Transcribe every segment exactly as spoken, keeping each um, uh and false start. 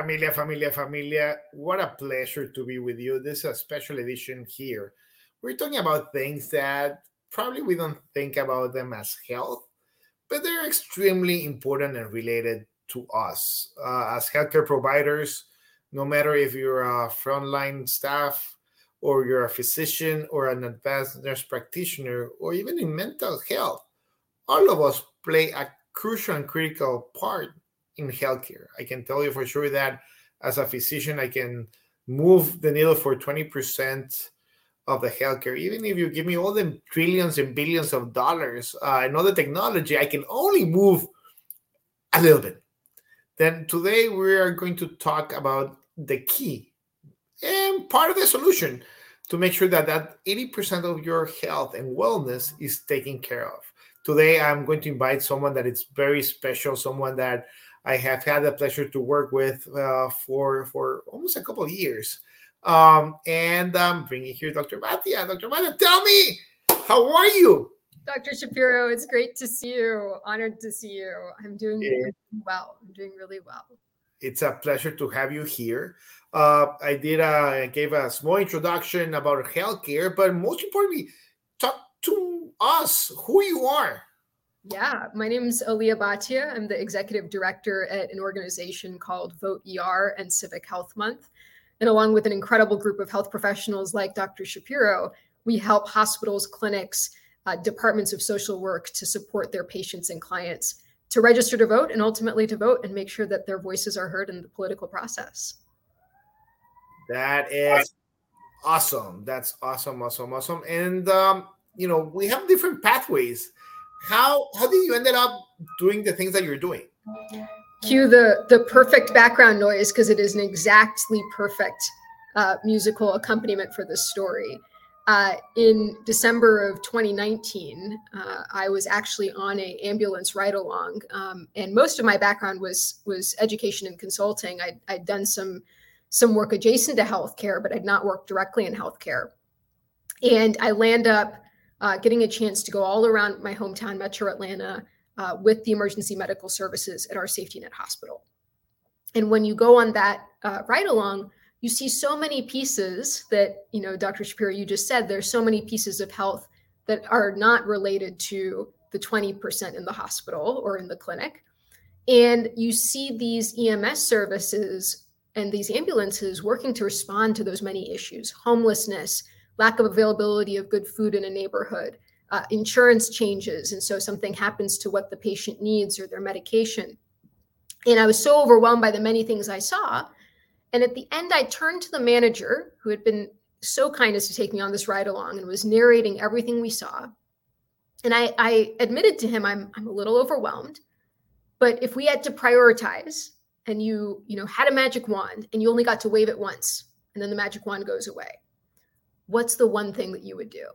Familia, familia, familia. What a pleasure to be with you. This is a special edition here. We're talking about things that probably we don't think about them as health, but they're extremely important and related to us uh, as healthcare providers, no matter if you're a frontline staff or you're a physician or an advanced nurse practitioner or even in mental health. All of us play a crucial and critical part in healthcare. I can tell you for sure that as a physician, I can move the needle for twenty percent of the healthcare. Even if you give me all the trillions and billions of dollars uh, and all the technology, I can only move a little bit. Then today we are going to talk about the key and part of the solution to make sure that that eighty percent of your health and wellness is taken care of. Today, I'm going to invite someone that is very special, someone that I have had the pleasure to work with uh, for, for almost a couple of years. Um, and I'm bringing here Doctor Matia. Doctor Matia, tell me, how are you? Doctor Shapiro, it's great to see you. Honored to see you. I'm doing Yeah. really well. I'm doing really well. It's a pleasure to have you here. Uh, I did a, I gave a small introduction about healthcare, but most importantly, talk to us who you are. Yeah, my name is Aliyah Bhatia. I'm the executive director at an organization called Vote E R and Civic Health Month. And along with an incredible group of health professionals like Doctor Shapiro, we help hospitals, clinics, uh, departments of social work to support their patients and clients to register to vote and ultimately to vote and make sure that their voices are heard in the political process. That is awesome. That's awesome, awesome, awesome. And, um, you know, we have different pathways. How how did you ended up doing the things that you're doing? Cue the, the perfect background noise because it is an exactly perfect uh, musical accompaniment for this story. Uh, in December of twenty nineteen, uh, I was actually on an ambulance ride-along, um, and most of my background was was education and consulting. I'd, I'd done some some work adjacent to healthcare, but I'd not worked directly in healthcare. And I land up uh, getting a chance to go all around my hometown, Metro Atlanta, uh, with the emergency medical services at our Safety Net Hospital. And when you go on that uh, ride-along, you see so many pieces that, you know, Doctor Shapiro, you just said, there's so many pieces of health that are not related to the twenty percent in the hospital or in the clinic. And you see these E M S services and these ambulances working to respond to those many issues: homelessness, lack of availability of good food in a neighborhood, uh, insurance changes. And so something happens to what the patient needs or their medication. And I was so overwhelmed by the many things I saw. And at the end, I turned to the manager who had been so kind as to take me on this ride along and was narrating everything we saw. And I, I admitted to him, I'm, I'm a little overwhelmed, but if we had to prioritize and you, you know, had a magic wand and you only got to wave it once and then the magic wand goes away, what's the one thing that you would do?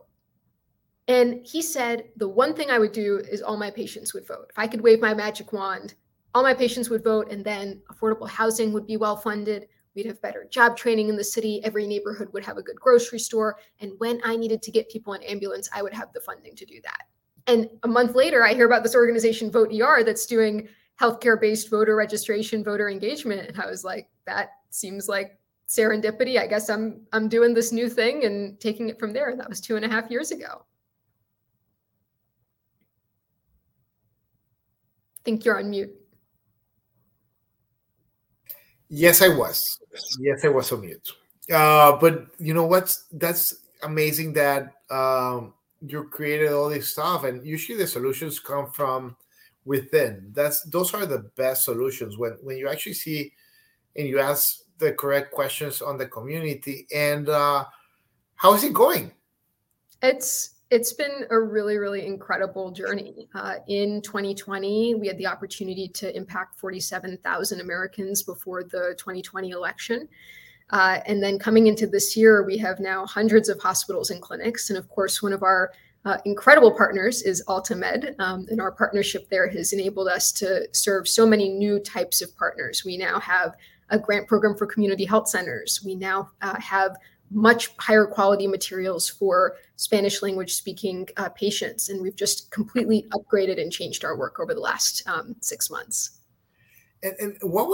And he said, the one thing I would do is all my patients would vote. If I could wave my magic wand, all my patients would vote, and then affordable housing would be well funded. We'd have better job training in the city. Every neighborhood would have a good grocery store. And when I needed to get people in ambulance, I would have the funding to do that. And a month later, I hear about this organization, Vote E R, that's doing healthcare-based voter registration, voter engagement. And I was like, that seems like serendipity. I guess I'm I'm doing this new thing and taking it from there. And that was two and a half years ago. I think you're on mute. Yes, I was. Yes, I was on mute. Uh, but you know what's that's amazing that um, you created all this stuff, and usually the solutions come from within. That's those are the best solutions when when you actually see and you ask the correct questions on the community. And uh, how is it going? It's it's been a really, really incredible journey. Uh, in twenty twenty, we had the opportunity to impact forty-seven thousand Americans before the twenty twenty election. Uh, and then coming into this year, we have now hundreds of hospitals and clinics. And of course, one of our uh, incredible partners is AltaMed. Um, and our partnership there has enabled us to serve so many new types of partners. We now have a grant program for community health centers. We now uh, have much higher quality materials for Spanish language speaking uh, patients. And we've just completely upgraded and changed our work over the last um, six months. And, and what was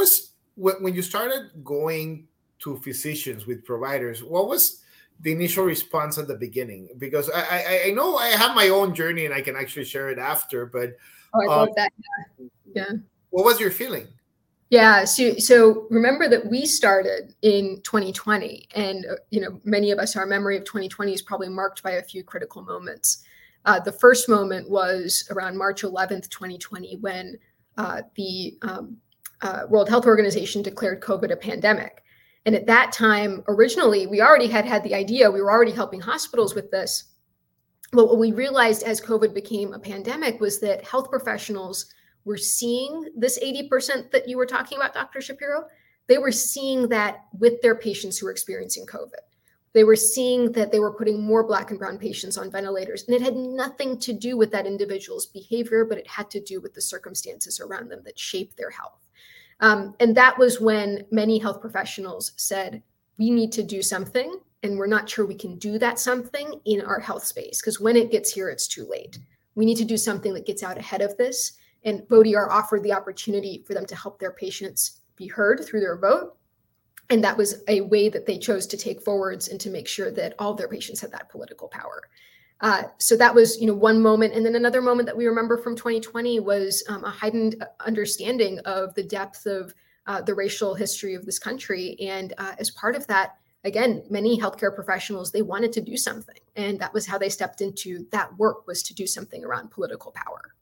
when, when you started going to physicians with providers, what was the initial response at the beginning? Because I, I, I know I have my own journey and I can actually share it after, but oh, I um, love that. Yeah. yeah. What was your feeling? Yeah. So, so remember that we started in twenty twenty, and uh, you know, many of us, our memory of twenty twenty is probably marked by a few critical moments. Uh, the first moment was around March eleventh, twenty twenty, when uh, the um, uh, World Health Organization declared COVID a pandemic. And at that time, originally, we already had had the idea, we were already helping hospitals with this. But what we realized as COVID became a pandemic was that health professionals were seeing this eighty percent that you were talking about, Doctor Shapiro. They were seeing that with their patients who were experiencing COVID. They were seeing that they were putting more Black and brown patients on ventilators. And it had nothing to do with that individual's behavior, but it had to do with the circumstances around them that shaped their health. Um, and that was when many health professionals said, we need to do something, and we're not sure we can do that something in our health space, because when it gets here, it's too late. We need to do something that gets out ahead of this. And VOTE-E R offered the opportunity for them to help their patients be heard through their vote. And that was a way that they chose to take forwards and to make sure that all of their patients had that political power. Uh, so that was, you know, one moment. And then another moment that we remember from twenty twenty was um, a heightened understanding of the depth of uh, the racial history of this country. And uh, as part of that, again, many healthcare professionals, they wanted to do something. And that was how they stepped into that work, was to do something around political power.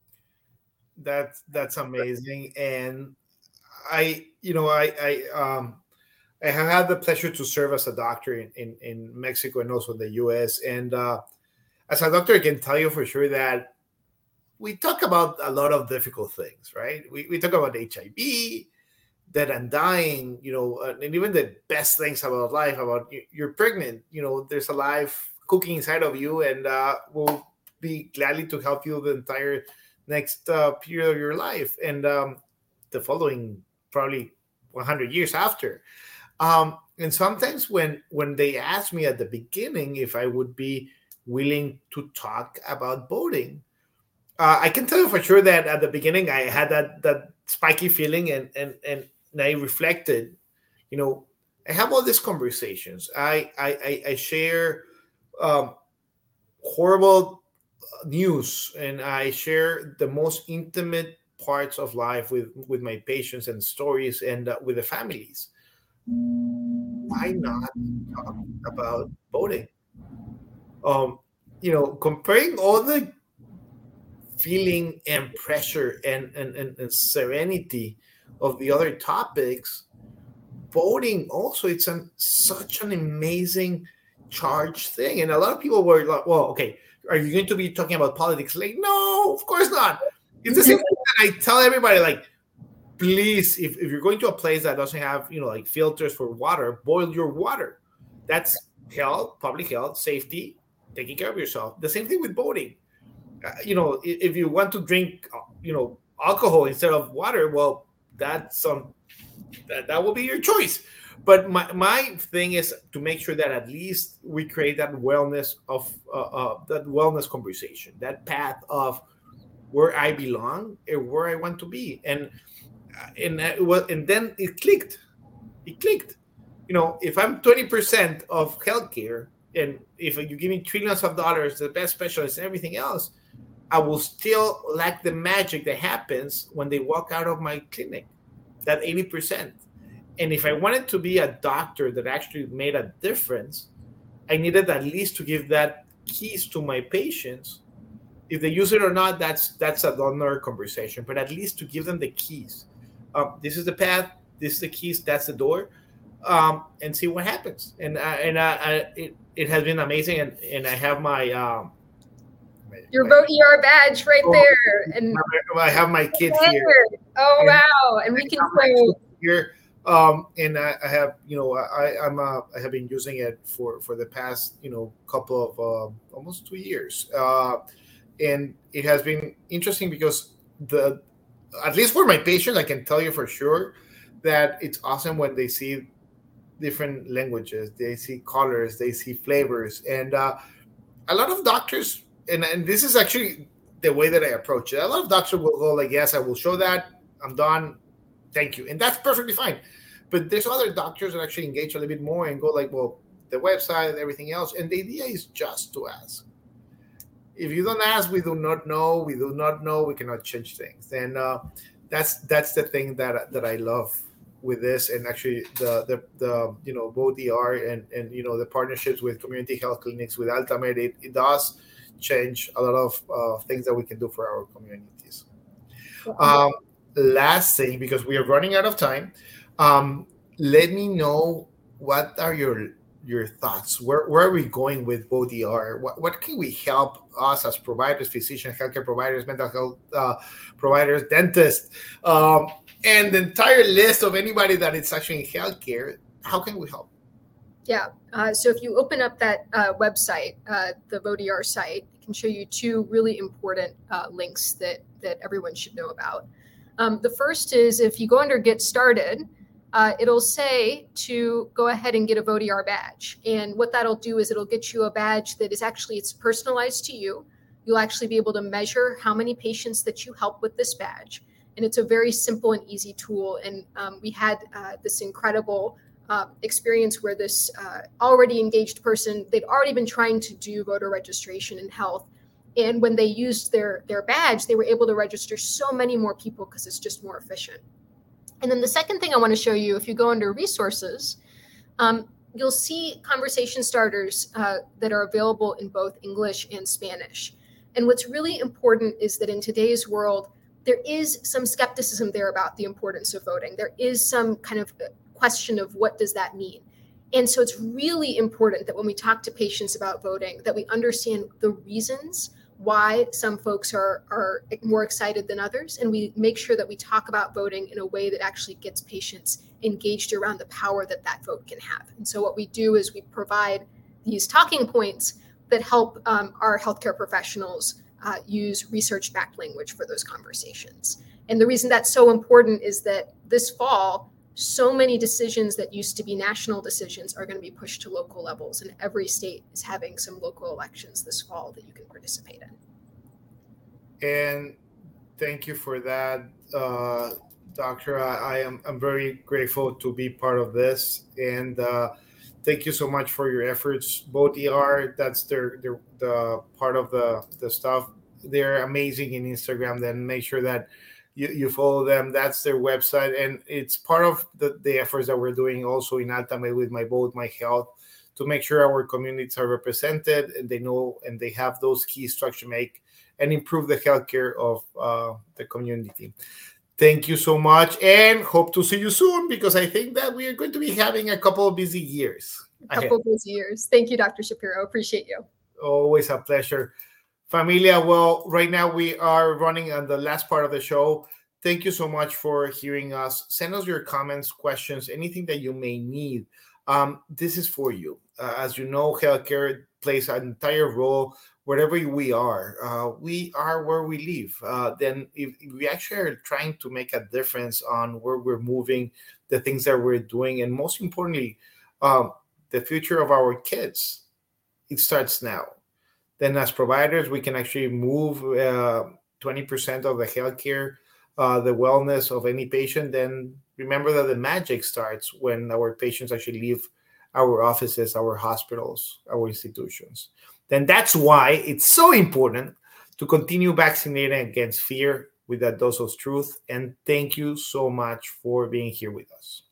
That's, that's amazing. And I, you know, I, I, um, I have had the pleasure to serve as a doctor in, in, in Mexico and also in the U S. And uh, as a doctor, I can tell you for sure that we talk about a lot of difficult things, right? We, we talk about H I V, dead and dying, you know, uh, and even the best things about life, about you're pregnant, you know, there's a life cooking inside of you, and uh, we'll be gladly to help you the entire next uh, period of your life and um, the following probably one hundred years after. Um, and sometimes when when they asked me at the beginning if I would be willing to talk about voting, uh, I can tell you for sure that at the beginning I had that that spiky feeling, and and and I reflected. You know, I have all these conversations. I I I share um, horrible news, and I share the most intimate parts of life with with my patients and stories, and uh, with the families. Why not talk about voting? Um, you know, comparing all the feeling and pressure and, and, and, and serenity of the other topics, voting also, it's an, such an amazing charged thing. And a lot of people were like, well, okay, are you going to be talking about politics? Like, no, of course not. It's the same thing that I tell everybody, like, please, if, if you're going to a place that doesn't have, you know, like filters for water, boil your water. That's health, public health, safety, taking care of yourself. The same thing with voting. Uh, you know, if, if you want to drink, you know, alcohol instead of water, well, that's um, that, that will be your choice. But my, my thing is to make sure that at least we create that wellness of uh, uh, that wellness conversation, that path of where I belong and where I want to be. And and it was, and then it clicked. It clicked. You know, if I'm twenty percent of healthcare, and if you give me trillions of dollars, the best specialists and everything else, I will still lack the magic that happens when they walk out of my clinic, that eighty percent. And if I wanted to be a doctor that actually made a difference, I needed at least to give that keys to my patients. If they use it or not, that's that's another conversation, but at least to give them the keys. Um, this is the path, this is the keys, that's the door, um, and see what happens. And uh, and uh, I, it, it has been amazing, and, and I have my... Um, Your VOTE-E R badge right oh, there. And I have my kid here. Oh, and wow. And we can say... Here. Um, and I, I have, you know, I, I'm, uh, I have been using it for, for the past, you know, couple of, uh, almost two years. Uh, and it has been interesting because the, at least for my patients, I can tell you for sure that it's awesome when they see different languages, they see colors, they see flavors. And uh, a lot of doctors, and, and this is actually the way that I approach it. A lot of doctors will go like, yes, I will show that. I'm done. Thank you. And that's perfectly fine. But there's other doctors that actually engage a little bit more and go like, well, the website and everything else. And the idea is just to ask. If you don't ask, we do not know. We do not know. We cannot change things. And uh, that's that's the thing that that I love with this. And actually, the the, the you know VoteER and and you know the partnerships with community health clinics with Altamed, it, it does change a lot of uh, things that we can do for our communities. Um, last thing, because we are running out of time, um, let me know what are your your thoughts. Where, where are we going with VoteER? What, what can we help us as providers, physicians, healthcare providers, mental health uh, providers, dentists, um, and the entire list of anybody that is actually in healthcare? How can we help? Yeah. Uh, so if you open up that uh, website, uh, the VoteER site, it can show you two really important uh, links that that everyone should know about. Um, the first is if you go under Get Started, uh, it'll say to go ahead and get a VoteER badge. And what that'll do is it'll get you a badge that is actually, it's personalized to you. You'll actually be able to measure how many patients that you help with this badge. And it's a very simple and easy tool. And um, we had uh, this incredible uh, experience where this uh, already engaged person, they'd already been trying to do voter registration in health. And when they used their, their badge, they were able to register so many more people because it's just more efficient. And then the second thing I want to show you, if you go under resources, um, you'll see conversation starters uh, that are available in both English and Spanish. And what's really important is that in today's world, there is some skepticism there about the importance of voting. There is some kind of question of what does that mean? And so it's really important that when we talk to patients about voting, that we understand the reasons why some folks are, are more excited than others. And we make sure that we talk about voting in a way that actually gets patients engaged around the power that that vote can have. And so what we do is we provide these talking points that help um, our healthcare professionals uh, use research-backed language for those conversations. And the reason that's so important is that this fall, so many decisions that used to be national decisions are going to be pushed to local levels, and every state is having some local elections this fall that you can participate in. And thank you for that, uh, Doctor. I, I am I'm very grateful to be part of this, and uh, thank you so much for your efforts. VoteER, that's their, their the part of the the stuff. They're amazing in Instagram. Then make sure that You, you follow them. That's their website, and it's part of the, the efforts that we're doing also in Altamed with My Vote, My Health, to make sure our communities are represented and they know and they have those keys to actually make and improve the healthcare of uh, the community. Thank you so much, and hope to see you soon, because I think that we are going to be having a couple of busy years. A couple of busy years. Thank you, Doctor Shapiro. Appreciate you. Always a pleasure. Familia, well, right now we are running on the last part of the show. Thank you so much for hearing us. Send us your comments, questions, anything that you may need. Um, this is for you. Uh, as you know, healthcare plays an entire role wherever we are. Uh, we are where we live. Uh, then if, if we actually are trying to make a difference on where we're moving, the things that we're doing, and most importantly, um, the future of our kids, it starts now. Then as providers, we can actually move uh, twenty percent of the healthcare, uh, the wellness of any patient. Then remember that the magic starts when our patients actually leave our offices, our hospitals, our institutions. Then that's why it's so important to continue vaccinating against fear with that dose of truth. And thank you so much for being here with us.